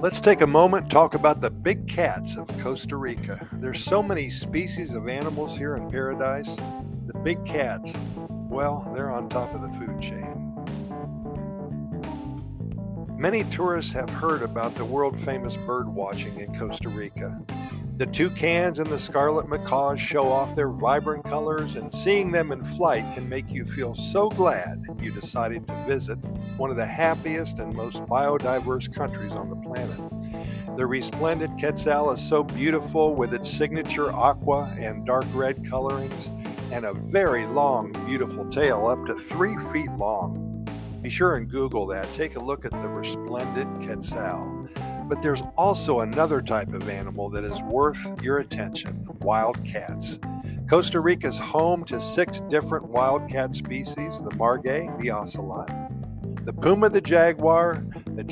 Let's take a moment and talk about the big cats of Costa Rica. There's so many species of animals here in paradise. The big cats, well, they're on top of the food chain. Many tourists have heard about the world-famous bird watching in Costa Rica. The toucans and the scarlet macaws show off their vibrant colors, and seeing them in flight can make you feel so glad you decided to visit one of the happiest and most biodiverse countries on the planet. The resplendent quetzal is so beautiful with its signature aqua and dark red colorings and a very long, beautiful tail up to 3 feet long. Be sure and Google that. Take a look at the resplendent quetzal. But there's also another type of animal that is worth your attention: wild cats. Costa Rica is home to 6 different wildcat species: the margay, the ocelot, the puma, the jaguar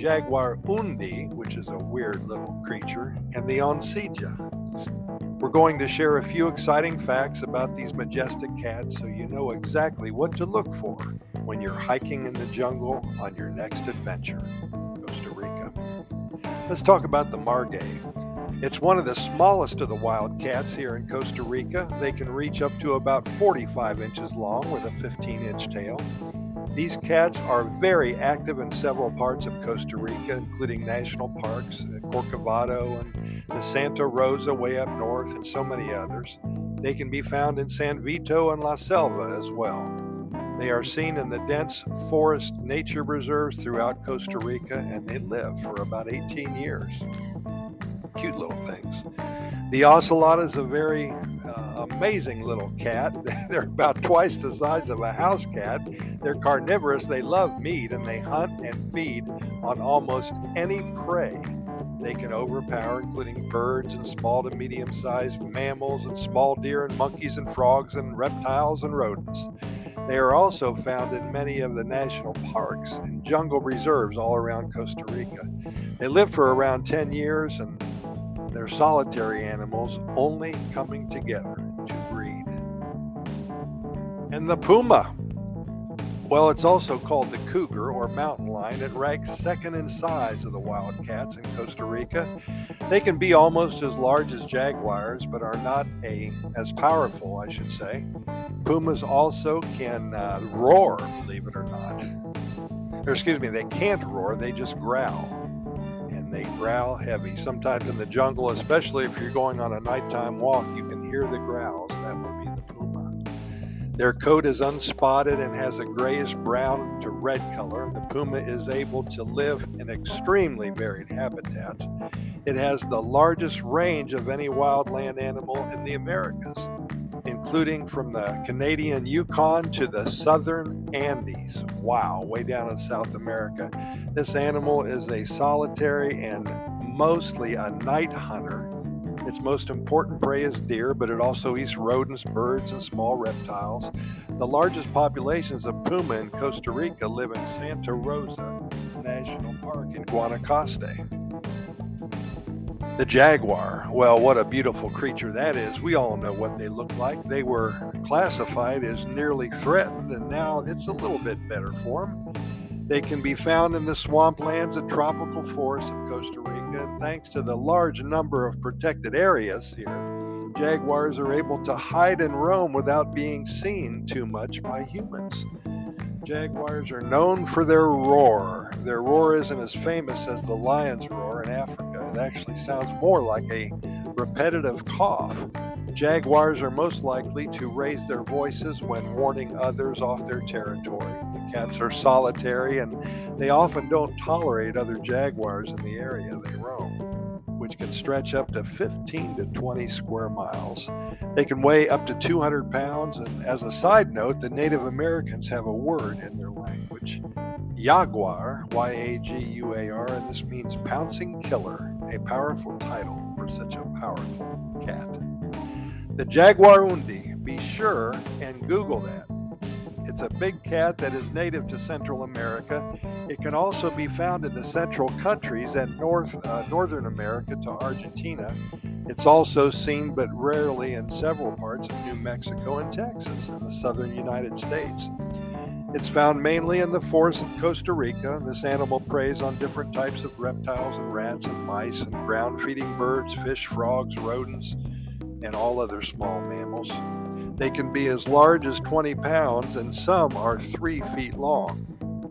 undi, which is a weird little creature, and the oncilla. We're going to share a few exciting facts about these majestic cats so you know exactly what to look for when you're hiking in the jungle on your next adventure, Costa Rica. Let's talk about the margay. It's one of the smallest of the wild cats here in Costa Rica. They can reach up to about 45 inches long with a 15-inch tail. These cats are very active in several parts of Costa Rica, including national parks, Corcovado and the Santa Rosa way up north, and so many others. They can be found in San Vito and La Selva as well. They are seen in the dense forest nature reserves throughout Costa Rica, and they live for about 18 years. Cute little things. The ocelot is a very amazing little cat. They're about twice the size of a house cat. They're carnivorous. They love meat, and they hunt and feed on almost any prey they can overpower, including birds and small to medium-sized mammals and small deer and monkeys and frogs and reptiles and rodents. They are also found in many of the national parks and jungle reserves all around Costa Rica. They live for around 10 years, and they're solitary animals, only coming together to breed. And the puma. Well, it's also called the cougar or mountain lion. It ranks second in size of the wild cats in Costa Rica. They can be almost as large as jaguars, but are not as powerful, I should say. Pumas also can roar, believe it or not. They can't roar, they just growl. And they growl heavy. Sometimes in the jungle, especially if you're going on a nighttime walk, you can hear the growls. That would be the puma. Their coat is unspotted and has a grayish brown to red color. The puma is able to live in extremely varied habitats. It has the largest range of any wildland animal in the Americas, including from the Canadian Yukon to the southern Andes. Wow, way down in South America. This animal is a solitary and mostly a night hunter. Its most important prey is deer, but it also eats rodents, birds, and small reptiles. The largest populations of puma in Costa Rica live in Santa Rosa National Park in Guanacaste. The jaguar, well, what a beautiful creature that is. We all know what they look like. They were classified as nearly threatened, and now it's a little bit better for them. They can be found in the swamplands and tropical forests of Costa Rica, and thanks to the large number of protected areas here, jaguars are able to hide and roam without being seen too much by humans. Jaguars are known for their roar. Their roar isn't as famous as the lion's roar in Africa. It actually sounds more like a repetitive cough. Jaguars are most likely to raise their voices when warning others off their territory. The cats are solitary, and they often don't tolerate other jaguars in the area they roam, which can stretch up to 15 to 20 square miles. They can weigh up to 200 pounds, and as a side note, the Native Americans have a word in their language, jaguar, Y-A-G-U-A-R, and this means pouncing killer, a powerful title for such a powerful cat. The jaguar undi, be sure and Google that. It's a big cat that is native to Central America. It can also be found in the central countries and Northern America to Argentina. It's also seen but rarely in several parts of New Mexico and Texas in the southern United States. It's found mainly in the forests of Costa Rica. This animal preys on different types of reptiles and rats and mice and ground-feeding birds, fish, frogs, rodents, and all other small mammals. They can be as large as 20 pounds, and some are 3 feet long.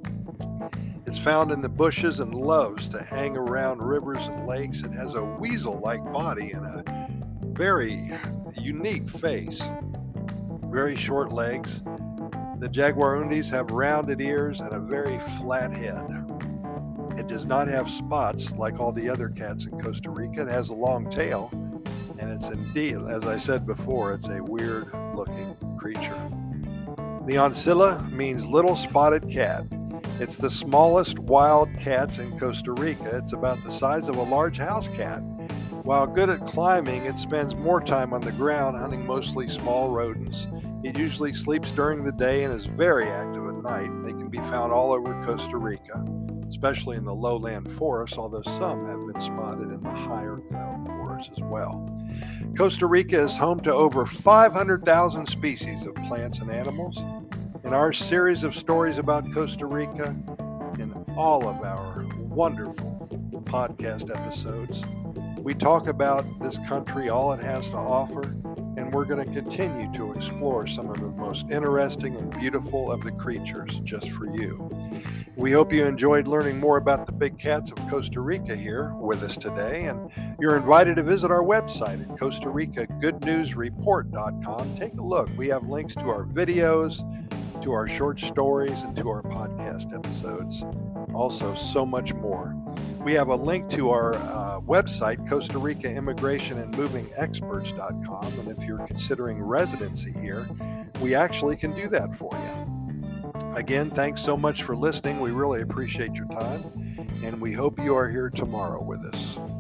It's found in the bushes and loves to hang around rivers and lakes. It has a weasel-like body and a very unique face, very short legs. The jaguarundis have rounded ears and a very flat head. It does not have spots like all the other cats in Costa Rica. It has a long tail, and it's indeed, as I said before, it's a weird-looking creature. The ancilla means little spotted cat. It's the smallest wild cats in Costa Rica. It's about the size of a large house cat. While good at climbing, it spends more time on the ground hunting mostly small rodents. It usually sleeps during the day and is very active at night. They can be found all over Costa Rica, especially in the lowland forests, although some have been spotted in the higher ground forests as well. Costa Rica is home to over 500,000 species of plants and animals. In our series of stories about Costa Rica, in all of our wonderful podcast episodes, we talk about this country, all it has to offer, and we're going to continue to explore some of the most interesting and beautiful of the creatures just for you. We hope you enjoyed learning more about the big cats of Costa Rica here with us today, and you're invited to visit our website at Costa Rica GoodNewsReport.com. Take a look. We have links to our videos, to our short stories, and to our podcast episodes. Also, so much more. We have a link to our website, Costa Rica Immigration and Moving Experts.com, and if you're considering residency here, we actually can do that for you. Again, thanks so much for listening. We really appreciate your time, and we hope you are here tomorrow with us.